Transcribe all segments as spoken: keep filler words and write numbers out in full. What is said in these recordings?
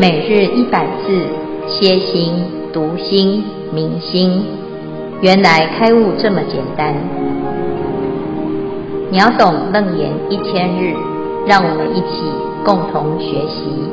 每日一百字，歇心、讀心、明心，原來開悟這麼簡單。秒懂楞嚴一千日，讓我們一起共同學習。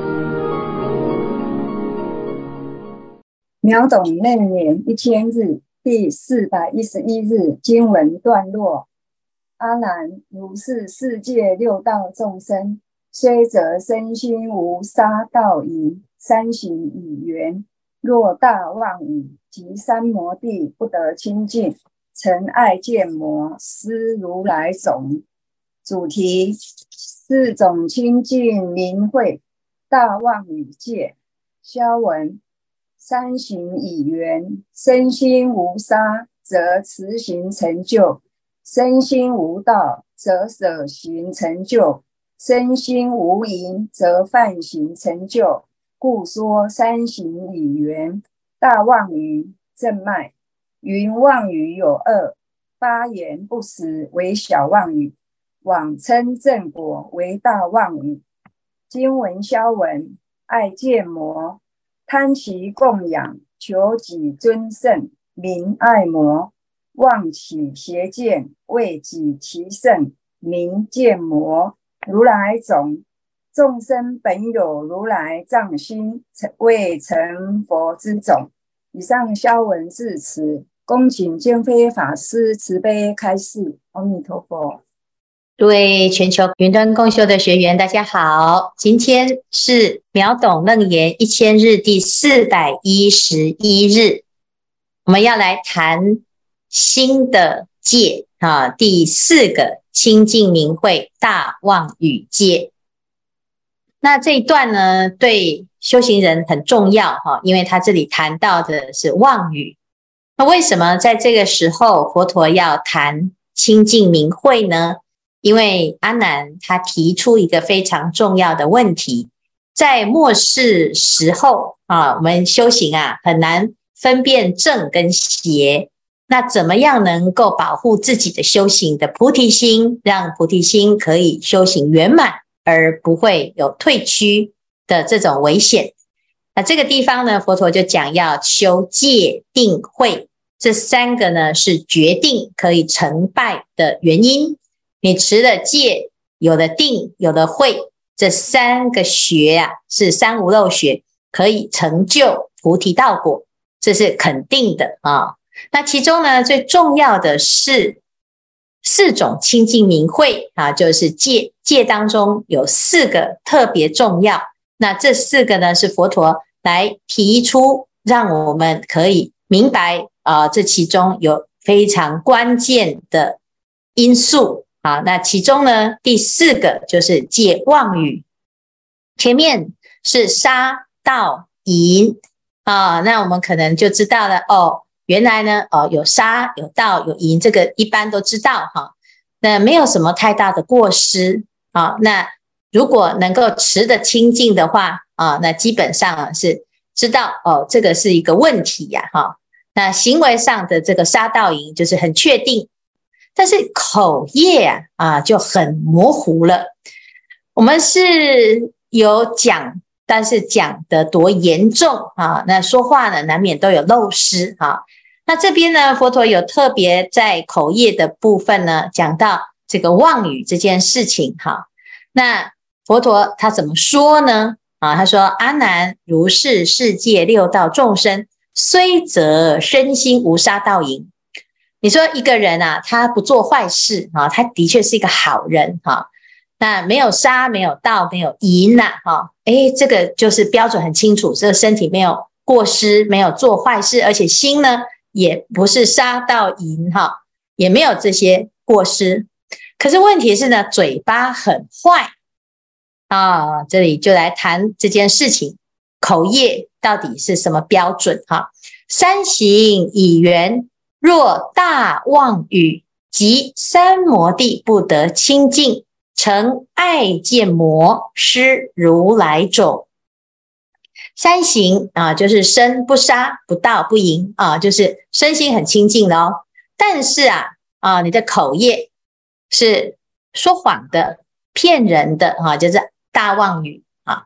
秒懂楞嚴一千日第四百一十一日經文段落。阿難，如是世界六道眾生，雖則身心無殺盜淫，三行已緣，若大妄語及三摩地不得清淨，曾愛見魔，施如來種。主題：四種清淨明慧大妄語戒。消文：三行已緣，身心無殺，則持行成就；身心無盜，則捨行成就；身心無淫，則犯行成就。故說三行已緣。大妄語正脈。云妄語有二：發言不實為小妄語，妄稱正果為大妄語。經文消文：愛見魔，貪其供養，求己尊勝，名愛魔；妄起邪見，為己其勝，名見魔。如來種。眾生本有如來藏心，未成佛之種。以上消文至此，恭請見輝法師慈悲開示。阿彌陀佛。 各位全球雲端共修的學員，大家好，今天是秒懂楞嚴一千日第四百一十一日，我們要來談新的戒啊，第四個清淨明慧大妄語戒。那這一段呢，對修行人很重要哈，因為他這裡談到的是妄語。那為什麼在這個時候佛陀要談清淨明慧呢？因為阿難他提出一個非常重要的問題，在末世時候啊，我們修行啊很難分辨正跟邪。那怎麼樣能夠保護自己的修行的菩提心，讓菩提心可以修行圓滿，而不會有退趨的這種危險？那這個地方呢，佛陀就講要修戒定慧，這三個呢是決定可以成敗的原因。你持了戒，有了定，有了慧，這三個學啊是三無漏學，可以成就菩提道果，這是肯定的啊。那其中呢，最重要的是四種清淨明慧啊，就是戒，戒當中有四個特別重要。那這四個呢，是佛陀來提出，讓我們可以明白啊，這其中有非常關鍵的因素啊。那其中呢，第四個就是戒妄語，前面是殺盜淫啊，那我們可能就知道了哦。原來呢，哦，有殺有盜有淫，這個一般都知道哈。那沒有什麼太大的過失啊。那如果能夠持得清淨的話啊，那基本上是知道哦，這個是一個問題呀哈。那行為上的這個殺盜淫就是很確定，但是口業啊啊就很模糊了。我們是有講，但是講得多嚴重啊？那說話呢，難免都有漏失啊。那這邊呢，佛陀有特別在口業的部分呢，講到這個妄語這件事情哈。那佛陀他怎麼說呢？啊，他說：阿難，如是世界六道眾生，雖則身心無殺盜淫。你說一個人啊，他不做壞事啊，他的確是一個好人哈。那沒有殺，沒有盜，沒有淫吶哈。誒，這個就是標準很清楚，這個身體沒有過失，沒有做壞事，而且心呢，也不是殺盜淫哈，也沒有這些過失。可是問題是呢，嘴巴很壞啊。這裡就來談這件事情，口業到底是什麼標準哈？三行已緣，若大妄語及三摩地不得清淨，曾愛見魔，施如來種。三行啊，就是身不殺不盜不淫啊，就是身心很清淨的哦。但是啊啊，你的口業是說謊的、騙人的啊，就是大妄語啊。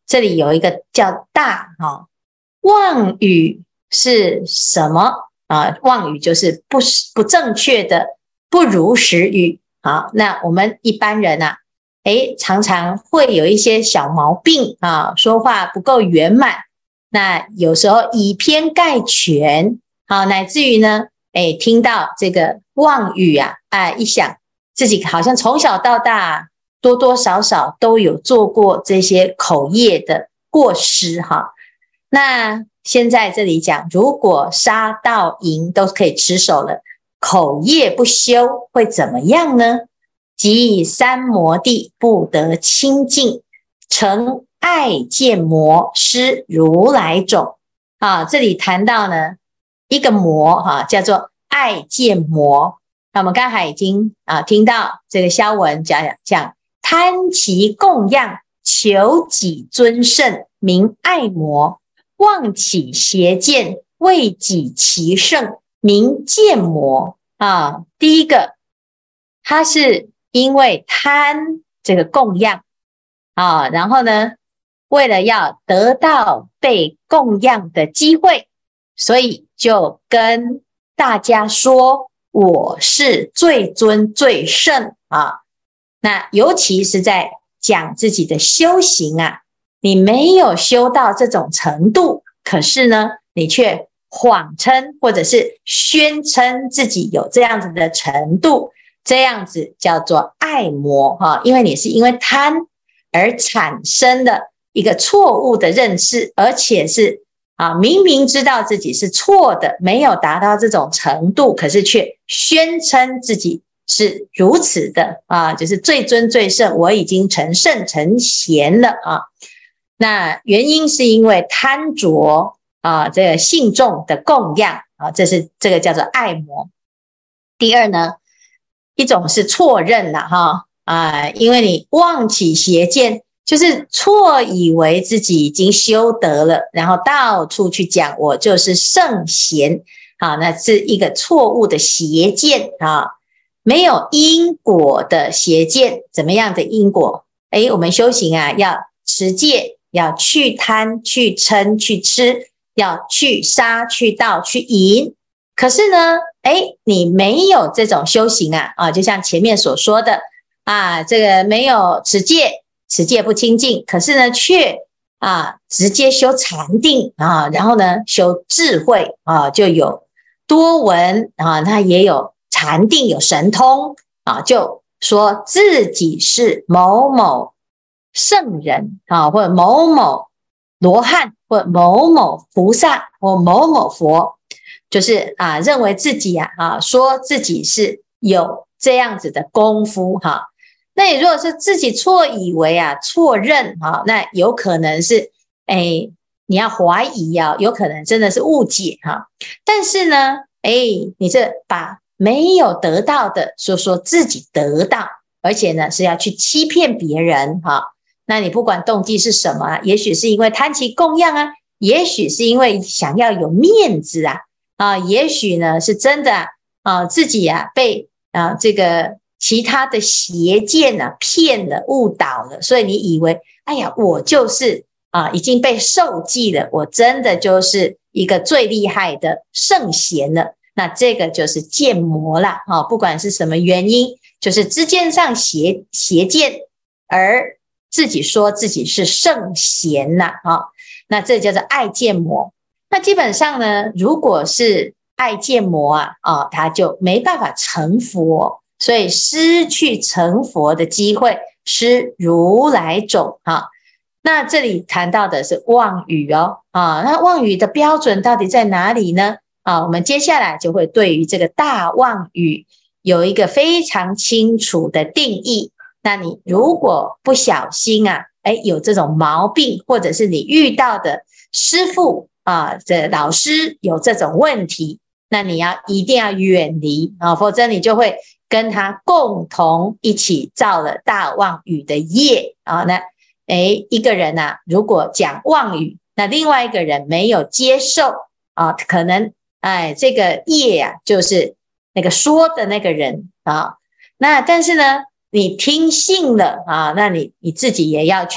這裡有一個叫大哈，妄語是什麼啊？妄語就是不不正確的、不如實語。好，那我們一般人啊，誒，常常會有一些小毛病啊，說話不夠圓滿。那有時候以偏概全，好，乃至於呢，誒，聽到這個妄語啊，啊，一想自己好像從小到大多多少少都有做過這些口業的過失哈。那現在這裡講，如果殺盜淫都可以持守了，口業不修會怎麼樣呢？即以三摩地不得清淨，成愛見魔，失如來種。啊，這裡談到呢一個魔哈、啊，叫做愛見魔。那我們剛才已經啊聽到這個蕭文講講貪其供養，求己尊勝，名愛魔；妄起邪見，為己其勝，名見魔。啊，第一個，他是因為貪這個供養啊，然後呢，為了要得到被供養的機會，所以就跟大家說我是最尊最勝啊。那尤其是在講自己的修行啊，你沒有修到這種程度，可是呢，你卻謊稱或者是宣稱自己有這樣子的程度，這樣子叫做愛魔哈，因為你是因為貪而產生了一個錯誤的認識，而且是啊明明知道自己是錯的，沒有達到這種程度，可是卻宣稱自己是如此的啊，就是最尊最勝，我已經成聖成賢了啊。那原因是因為貪着啊，這個信眾的供養啊，這是這個叫做愛魔。第二呢，一種是錯認了哈啊，因為你妄起邪見，就是錯以為自己已經修得了，然後到處去講我就是聖賢啊，那是一個錯誤的邪見啊，沒有因果的邪見。怎麼樣的因果？誒，我們修行啊，要持戒，要去貪、去嗔、去痴。要去殺、去盜、去淫，可是呢，誒，你沒有這種修行啊，啊，就像前面所說的啊，這個沒有持戒，持戒不清淨，可是呢，卻啊直接修禪定啊，然後呢修智慧啊，就有多聞啊，他也有禪定，有神通啊，就說自己是某某聖人啊，或者某某羅漢，或某某菩薩，或某某佛，就是啊，認為自己啊啊，說自己是有這樣子的功夫哈、啊。那你如果是自己錯以為啊，錯認哈、啊，那有可能是哎，你要懷疑啊，有可能真的是誤解哈、啊。但是呢，哎，你這把沒有得到的說說自己得到，而且呢是要去欺騙別人哈、啊。那你不管動機是什麼啊，也許是因為貪其供養啊，也許是因為想要有面子啊，啊，也許呢是真的啊，啊自己啊被啊這個其他的邪見啊騙了、誤導了，所以你以為，哎呀，我就是啊已經被受記了，我真的就是一個最厲害的聖賢了，那這個就是見魔啦，啊，不管是什麼原因，就是知見上邪邪見而。自己說自己是聖賢吶，啊，那這叫做愛見魔。那基本上呢，如果是愛見魔啊，啊，他就沒辦法成佛，所以失去成佛的機會，失如來種啊。那這裡談到的是妄語哦，啊，那妄語的標準到底在哪裡呢？啊，我們接下來就會對於這個大妄語有一個非常清楚的定義。那你如果不小心啊，誒，有這種毛病，或者是你遇到的師父啊，這老師有這種問題，那你要一定要遠離啊，否則你就會跟他共同一起造了大妄語的業啊。那誒，一個人啊，如果講妄語，那另外一個人沒有接受啊，可能哎，這個業啊，就是那個說的那個人啊。那但是呢，你聽信了啊，那你你自己也要去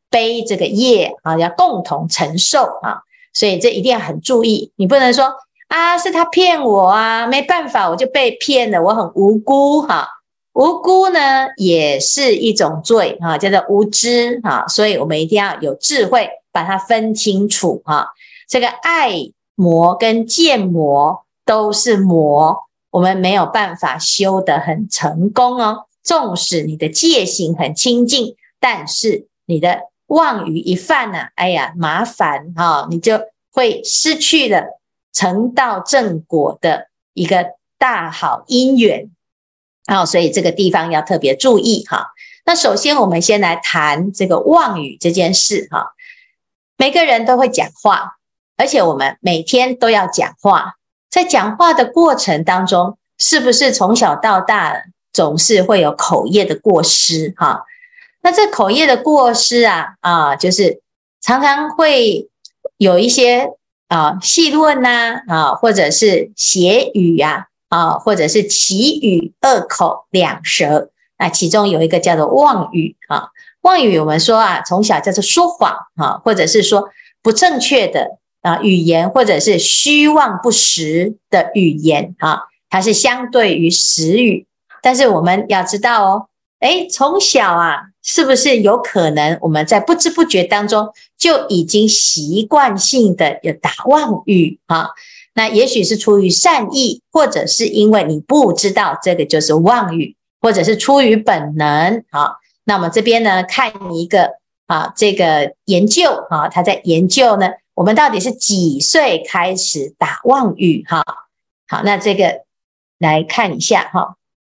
背這個業啊，要共同承受啊，所以這一定要很注意，你不能說啊是他騙我啊，沒辦法我就被騙了，我很無辜哈、啊，無辜呢也是一種罪啊，叫做無知啊，所以我們一定要有智慧把它分清楚啊，這個愛魔跟見魔都是魔，我們沒有辦法修得很成功哦。縱使你的戒行很清淨，但是你的妄語一犯呢、啊，哎呀，麻煩哈、哦，你就會失去了成道正果的一個大好因緣啊、哦，所以這個地方要特別注意哈、哦。那首先我們先來談這個妄語這件事哈、哦。每個人都會講話，而且我們每天都要講話，在講話的過程當中，是不是從小到大總是會有口業的過失哈？那這口業的過失啊啊，就是常常會有一些啊戲論吶啊，或者是邪語呀啊，或者是綺語、惡口、兩舌，那其中有一個叫做妄語啊。妄語我們說啊，從小叫做說謊啊，或者是說不正確的啊語言，或者是虛妄不實的語言啊，它是相對於實語。但是我們要知道哦，誒，從小啊，是不是有可能我們在不知不覺當中就已經習慣性的有打妄語啊？那也許是出於善意，或者是因為你不知道這個就是妄語，或者是出於本能啊。那我們這邊呢，看一個啊，這個研究啊，他在研究呢，我們到底是幾歲開始打妄語哈？好，那這個來看一下哈。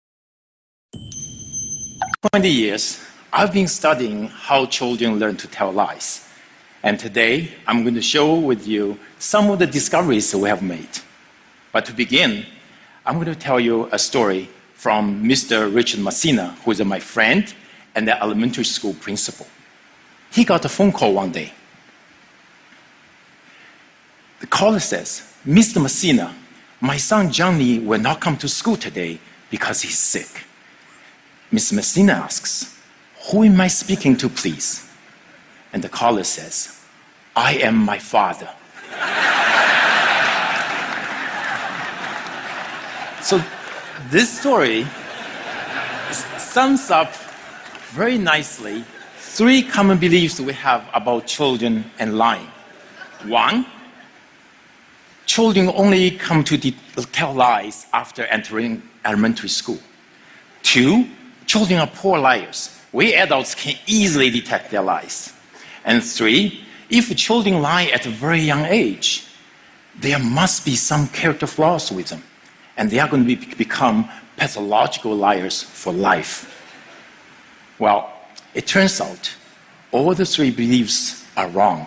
twenty years, I've been studying how children learn to tell lies. And today, I'm going to share with you some of the discoveries we have made. But to begin, I'm going to tell you a story from Mister Richard Messina, who is my friend and the elementary school principal. He got a phone call one day. The caller says, Mister Messina, my son Johnny will not come to school today because he's sick. Mister Messina asks, who am I speaking to, please? And the caller says, I am my father. So this story sums up very nicely three common beliefs we have about children and lying. One, children only come to tell lies after entering elementary school. Two, children are poor liars. We adults can easily detect their lies. And three, if children lie at a very young age, there must be some character flaws with them, and they are going to be, become pathological liars for life. Well, it turns out all the three beliefs are wrong.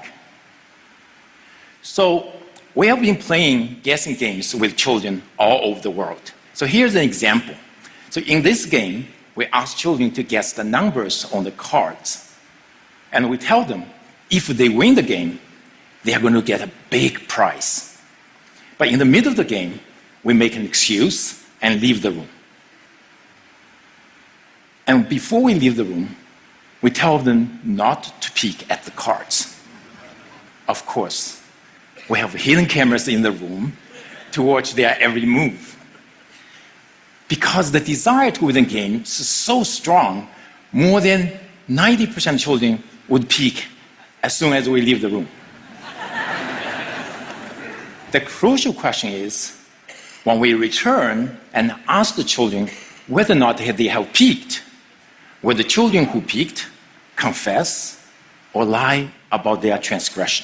So we have been playing guessing games with children all over the world. So here's an example. So in this game, we ask children to guess the numbers on the cards. And we tell them, if they win the game, they are going to get a big prize. But in the middle of the game, we make an excuse and leave the room. And before we leave the room, we tell them not to peek at the cards. Of course, we have hidden cameras in the room to watch their every move. Because the desire to win the game is so strong, more than ninety percent of children would peek as soon as we leave the room. The crucial question is, when we return and ask the children whether or not they have peeked, will the children who peeked confess or lie about their transgression?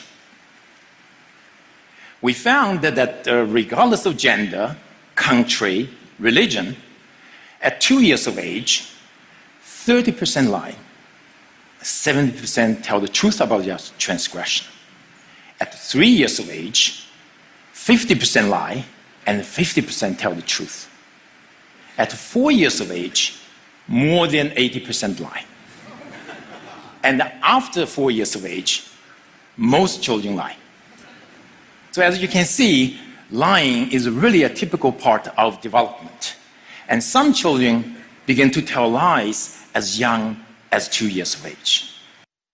We found that, that uh, regardless of gender, country, religion, at two years of age, thirty percent lie, seventy percent tell the truth about their transgression. At three years of age, fifty percent lie and fifty percent tell the truth. At four years of age, more than eighty percent lie. And after four years of age, most children lie. So as you can see, lying is really a typical part of development. And some children begin to tell lies as young as two years of age.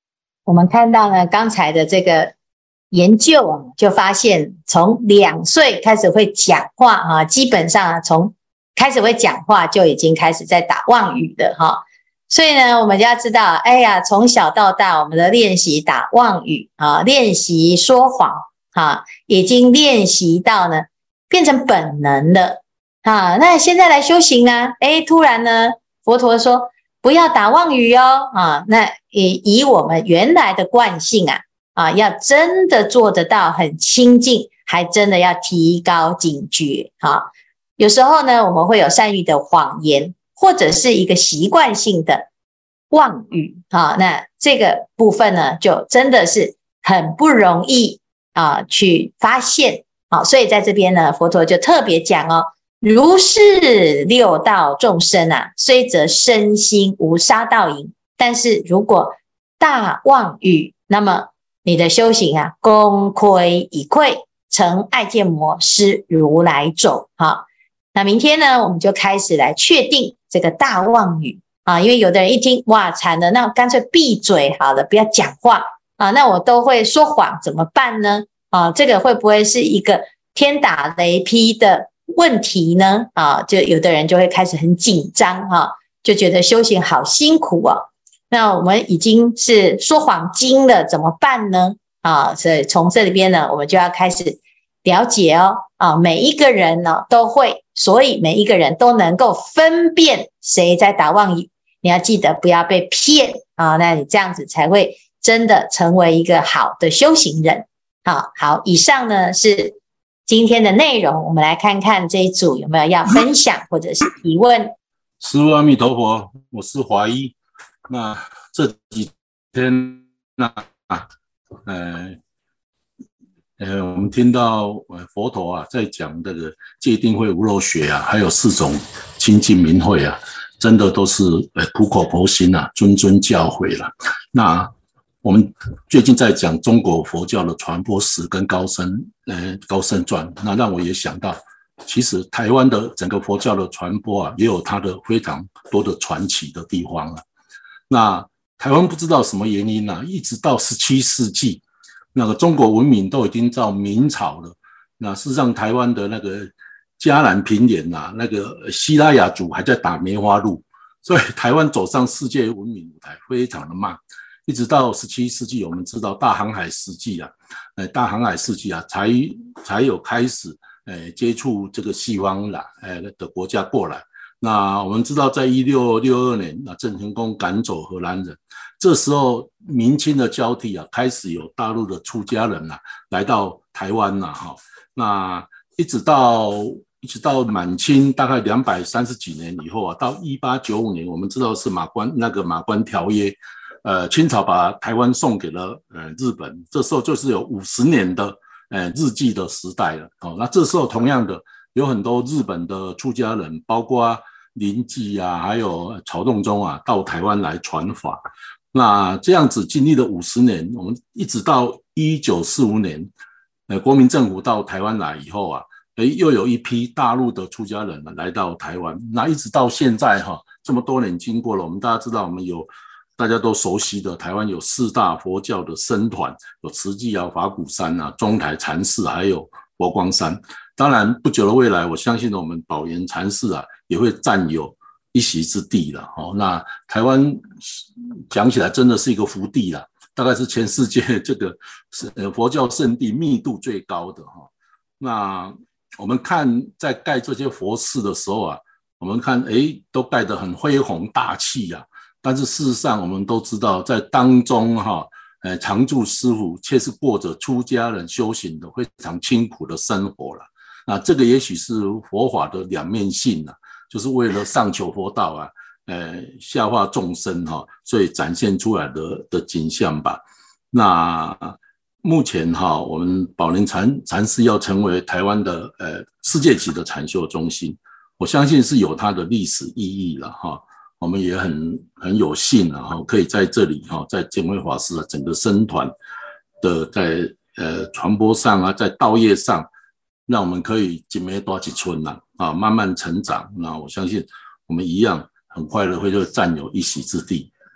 我們看到呢，剛才的這個研究啊，就發現從兩歲開始會講話啊，基本上啊，從開始會講話就已經開始在打妄語的哈。所以呢，我們就要知道，哎呀，從小到大，我們的練習打妄語啊，練習說謊啊，已經練習到呢，變成本能了啊。那現在來修行呢，哎，突然呢，佛陀說不要打妄語哦啊。那以以我們原來的慣性啊啊，要真的做得到很清淨，還真的要提高警覺啊。有時候呢，我們會有善意的謊言，或者是一個習慣性的妄語啊，那這個部分呢，就真的是很不容易啊去發現啊。所以在這邊呢，佛陀就特別講哦，如是六道眾生啊，雖則身心無殺盜淫，但是如果大妄語，那麼你的修行啊，功虧一簣，成愛見魔，失如來種啊。那明天呢，我們就開始來確定這個大妄語啊，因為有的人一聽，哇，慘了，那我乾脆閉嘴好了，不要講話啊，那我都會說謊，怎麼辦呢？啊，這個會不會是一個天打雷劈的問題呢？啊，就有的人就會開始很緊張哈，就覺得修行好辛苦哦。那我們已經是說謊精了，怎麼辦呢？啊，所以從這裡邊呢，我們就要開始了解哦，啊，每一個人呢都會，所以每一個人都能夠分辨誰在打妄語。你要記得不要被騙啊，那你這樣子才會真的成為一個好的修行人。好，好，以上呢是今天的內容，我們來看看這一組有沒有要分享或者是提問。 師父阿彌陀佛，我是華一。那這幾天那呃。呃，我們聽到呃佛陀啊在講這個戒定慧無漏學啊，還有四種清淨明慧啊，真的都是呃苦口婆心啊，諄諄教誨了。那我們最近在講中國佛教的傳播史跟高僧呃高僧傳，那讓我也想到，其實台灣的整個佛教的傳播啊，也有它的非常多的傳奇的地方啊。那台灣不知道什麼原因啊，一直到十七世紀。那個中國文明都已經到明朝了，那事實上台灣的那個嘉南平原啊，那個西拉雅族還在打梅花鹿，所以台灣走上世界文明舞台非常的慢，一直到十七世紀，我們知道大航海時期啊，呃，大航海時期啊，才才有開始呃接觸這個西方啦，呃的國家過來。那我們知道，在一六六二年，那鄭成功趕走荷蘭人，這時候明清的交替啊，開始有大陸的出家人啊來到台灣了哈。那一直到一直到滿清大概兩百三十幾年以後啊，到一八九五年，我們知道是馬關那個馬關條約，呃，清朝把台灣送給了呃日本，這時候就是有五十年的呃日據的時代了。哦，那這時候同樣的有很多日本的出家人，包括臨濟啊，還有曹洞宗啊，到台灣來傳法。那這樣子經歷了五十年，我們一直到一九四五年，呃，國民政府到台灣來以後啊，誒，又有一批大陸的出家人來到台灣。那一直到現在哈，這麼多年經過了，我們大家知道，我們有大家都熟悉的台灣有四大佛教的僧團，有慈濟啊、法鼓山啊、中台禪寺，還有佛光山。當然，不久的未來，我相信我們寶岩禪寺啊，也會佔有一席之地了。哦，那台灣講起來真的是一個福地啦，大概是全世界這個佛教聖地密度最高的哈。那我們看在蓋這些佛寺的時候啊，我們看誒都蓋得很恢宏大氣啊，但是事實上我們都知道，在當中哈，呃，常住師父卻是過着出家人修行的非常清苦的生活了。那這個也許是佛法的兩面性啊，就是為了上求佛道啊，呃，下化眾生哈，所以展現出來的的景象吧。那目前哈，我們寶蓮禪禪寺要成為台灣的呃世界級的禪修中心，我相信是有它的歷史意義了哈。我們也很很有幸啊，哈，可以在這裡哈，在見輝法師啊整個僧團的在呃傳播上啊，在道業上。讓我們可以一枚大一寸吶，啊，慢慢成長。那我相信我們一樣很快的會就佔有一席之地。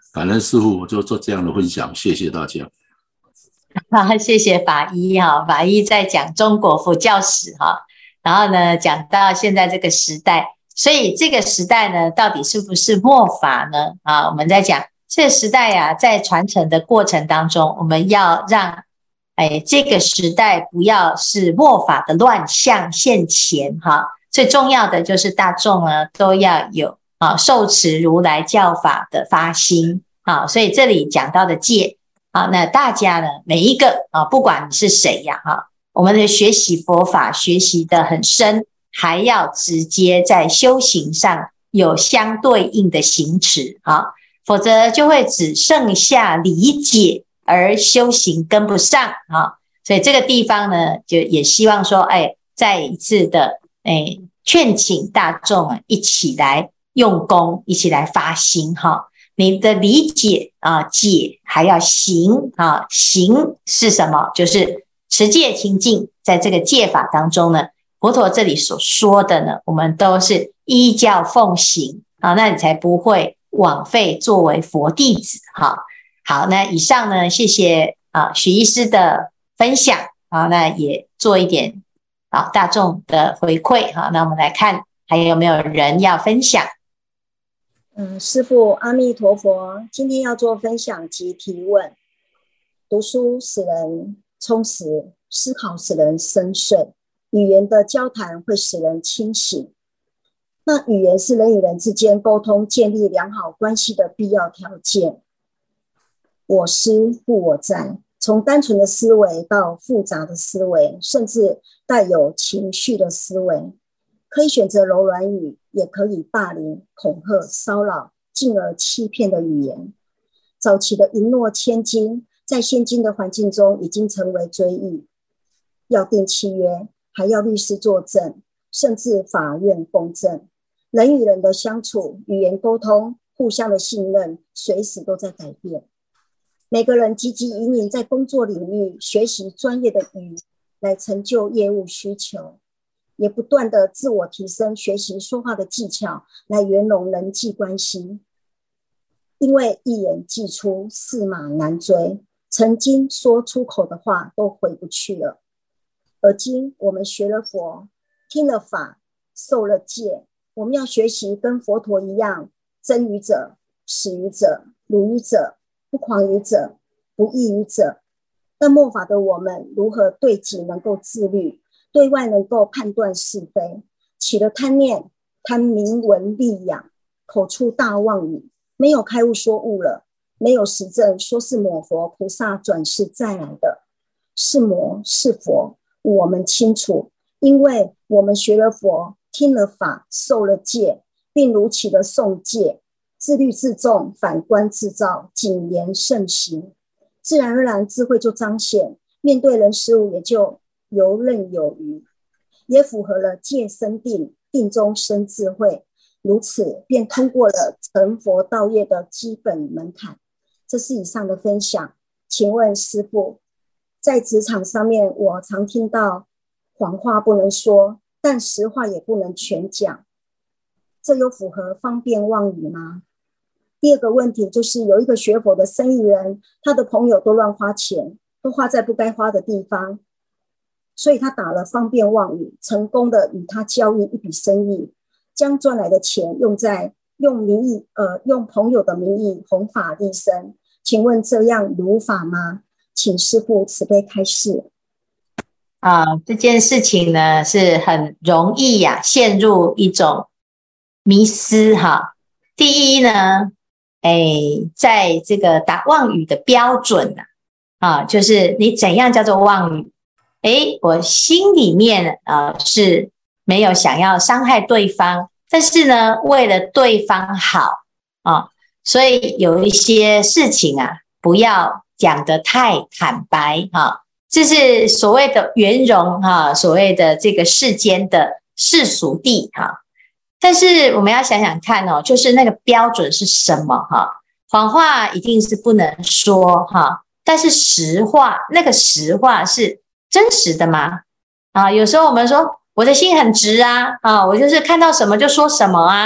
感恩師父，我就做這樣的分享，謝謝大家。 好，謝謝法醫哈，法醫在講中國佛教史哈，然後呢講到現在這個時代，所以這個時代呢到底是不是末法呢？啊，我們在講這個時代啊，在傳承的過程當中，我們要讓哎這個時代不要是末法的亂象現前哈。最重要的就是大眾呢都要有啊受持如來教法的發心啊，所以這裡講到的戒。好，那大家呢，每一個啊，不管你是誰呀，哈，我們的學習佛法學習得很深，還要直接在修行上有相對應的行持啊，否則就會只剩下理解而修行跟不上啊。所以這個地方呢，就也希望說，哎，再一次的哎勸請大眾啊，一起來用功，一起來發心哈。你的理解啊，解還要行啊，行是什麼？就是持戒清淨，在這個戒法當中呢，佛陀這裡所說的呢，我們都是依教奉行啊，那你才不會枉費作為佛弟子哈。好，那以上呢，謝謝啊許醫師的分享啊，那也做一點啊大眾的回饋哈。那我們來看還有沒有人要分享。 嗯，師父阿彌陀佛，今天要做分享及提問。讀書使人充實，思考使人深邃，語言的交談會使人清醒。那語言是人與人之間溝通、建立良好關係的必要條件。我思故我在，從單純的思維到複雜的思維，甚至帶有情緒的思維。可以選擇柔軟語，也可以霸凌、恐嚇、騷擾，進而欺騙的語言。早期的一諾千金，在現今的環境中已經成為追憶。要訂契約，還要律師作證，甚至法院公證。人與人的相處、語言溝通、互相的信任，隨時都在改變。每個人積極引領在工作領域學習專業的語言，來成就業務需求。也不斷的自我提升，學習說話的技巧，來圓融人際關係。因為一言既出，駟馬難追，曾經說出口的話都回不去了。而今我們學了佛，聽了法，受了戒，我們要學習跟佛陀一樣，真語者、實語者、如語者、不誑語者、不異語者。但末法的我們，如何對己能夠自律？對外能夠判斷是非，起了貪念，貪名聞利養，口出大妄語，沒有開悟說悟了，沒有實證說是抹佛菩薩轉世再來的，是魔是佛，我們清楚，因為我們學了佛，聽了法，受了戒，並如起了誦戒，自律自重，反觀自照，謹言慎行，自然而然智慧就彰顯，面對人事物也就游刃有餘，也符合了戒生定，定中生智慧，如此便通過了成佛道業的基本門檻。這是以上的分享。請問師父，在職場上面，我常聽到謊話不能說，但實話也不能全講，這有符合方便妄語嗎？第二個問題就是有一個學佛的生意人，他的朋友都亂花錢，都花在不該花的地方，所以他打了方便妄語，成功的與他交易一筆生意，將賺來的錢用在用名義呃用朋友的名義弘法利生。請問這樣如法嗎？請師父慈悲開示。 啊，這件事情呢是很容易呀、啊，陷入一種迷思哈。第一呢，哎，在這個打妄語的標準呢、啊，啊，就是你怎樣叫做妄語？哎，我心裡面啊、呃、是沒有想要傷害對方，但是呢，為了對方好啊，所以有一些事情啊，不要講得太坦白啊，這是所謂的圓融哈，所謂的這個世間的世俗諦哈。但是我們要想想看哦，就是那個標準是什麼哈？謊話一定是不能說哈，但是實話，那個實話是真實的嗎？啊，有時候我們說我的心很直啊，啊，我就是看到什麼就說什麼啊，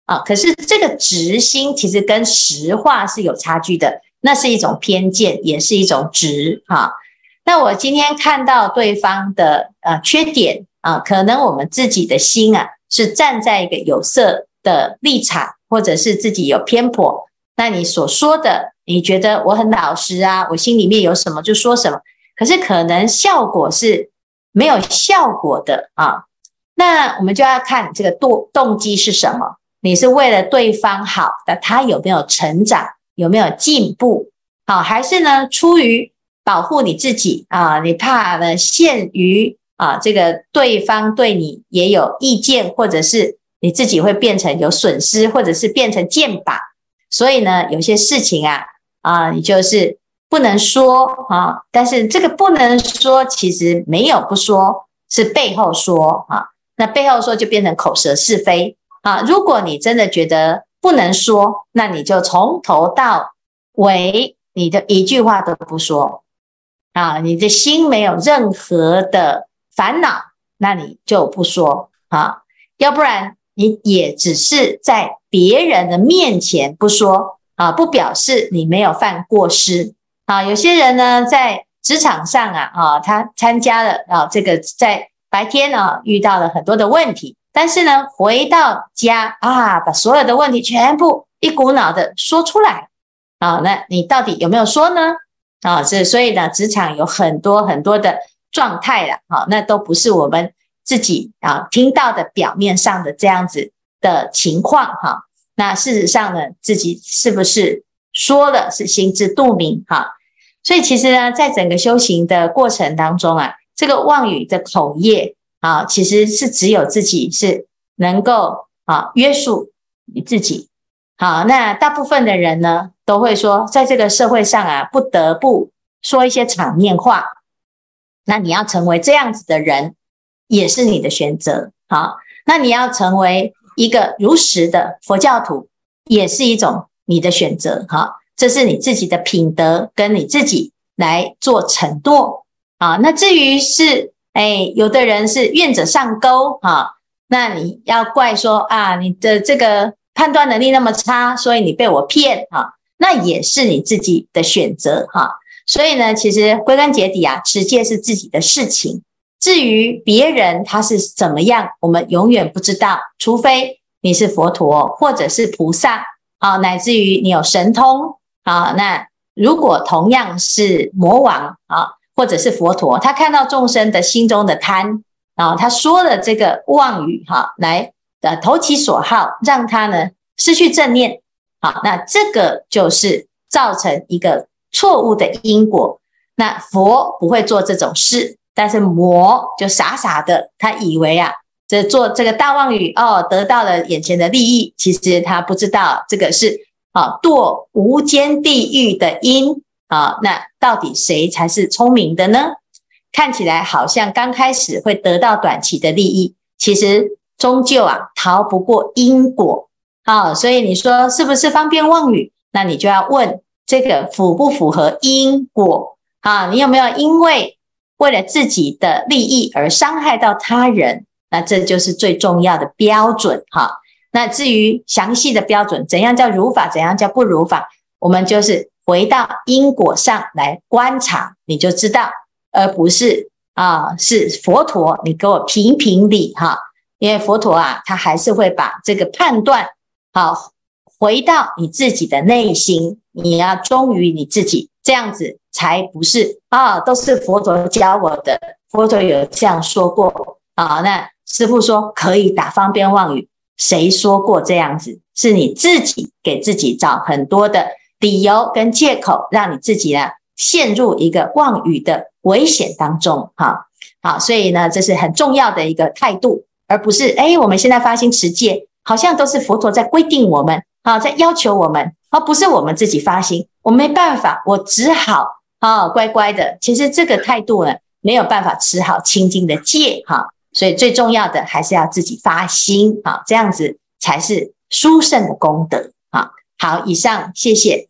啊。可是這個執心其實跟實話是有差距的，那是一種偏見，也是一種執哈。那我今天看到對方的呃缺點啊，可能我們自己的心啊是站在一個有色的立場，或者是自己有偏頗。那你所說的，你覺得我很老實啊，我心裡面有什麼就說什麼，可是可能效果是沒有效果的啊。那我們就要看這個動動機是什麼，你是為了對方好，那他有沒有成長，有沒有進步，好，還是呢出於保護你自己啊，你怕呢陷於啊這個對方對你也有意見，或者是你自己會變成有損失，或者是變成箭靶，所以呢有些事情啊啊你就是不能說啊，但是這個不能說其實沒有不說，是背後說啊。那背後說就變成口舌是非啊！如果你真的覺得不能說，那你就從頭到尾你的一句話都不說啊！你的心沒有任何的煩惱，那你就不說啊！要不然你也只是在別人的面前不說啊，不表示你沒有犯過失啊！有些人呢，在職場上啊啊，他參加了啊這個在。白天呢遇到了很多的問題，但是呢回到家啊，把所有的問題全部一股腦的說出來啊，那你到底有沒有說呢？啊，是所以呢，職場有很多很多的狀態了，啊，那都不是我們自己啊聽到的表面上的這樣子的情況哈，啊。那事實上呢，自己是不是說了是心知肚明哈，啊？所以其實呢，在整個修行的過程當中啊。這個妄語的口業啊，其實是只有自己是能夠啊約束你自己。好，那大部分的人呢，都會說，在這個社會上啊，不得不說一些場面話。那你要成為這樣子的人，也是你的選擇。好，那你要成為一個如實的佛教徒，也是一種你的選擇。好，這是你自己的品德，跟你自己來做承諾。啊，那至於是，哎，有的人是願者上鈎啊，那你要怪說啊，你的這個判斷能力那麼差，所以你被我騙啊，那也是你自己的選擇哈、啊。所以呢，其實歸根結底啊，持戒是自己的事情。至於別人他是怎麼樣，我們永遠不知道，除非你是佛陀或者是菩薩啊，乃至於你有神通啊。那如果同樣是魔王啊，或者是佛陀，他看到眾生的心中的貪啊，他說了這個妄語哈、啊，來呃投其所好，讓他呢失去正念，好，那這個就是造成一個錯誤的因果。那佛不會做這種事，但是魔就傻傻的，他以為啊，這做這個大妄語哦，得到了眼前的利益，其實他不知道這個是啊墮無間地獄的因。啊，那到底誰才是聰明的呢？看起來好像剛開始會得到短期的利益，其實終究啊逃不過因果。啊，所以你說是不是方便妄語？那你就要問這個符不符合因果？啊，你有沒有因為為了自己的利益而傷害到他人？那這就是最重要的標準。哈，那至於詳細的標準，怎樣叫如法，怎樣叫不如法，我們就是回到因果上來觀察，你就知道，而不是啊，是佛陀，你給我評評理哈。因為佛陀啊，他還是會把這個判斷好回到你自己的內心，你要忠於你自己，這樣子才不是啊，都是佛陀教我的，佛陀有這樣說過啊。那師父說可以打方便妄語，誰說過這樣子？是你自己給自己找很多的理由跟借口，讓你自己呢陷入一個妄語的危險當中哈。好，所以呢，這是很重要的一個態度，而不是哎，我們現在發心持戒，好像都是佛陀在規定我們啊，在要求我們，而不是我們自己發心，我沒辦法，我只好啊乖乖的。其實這個態度呢，沒有辦法持好清淨的戒哈。所以最重要的還是要自己發心啊，這樣子才是殊勝的功德啊。好，以上謝謝。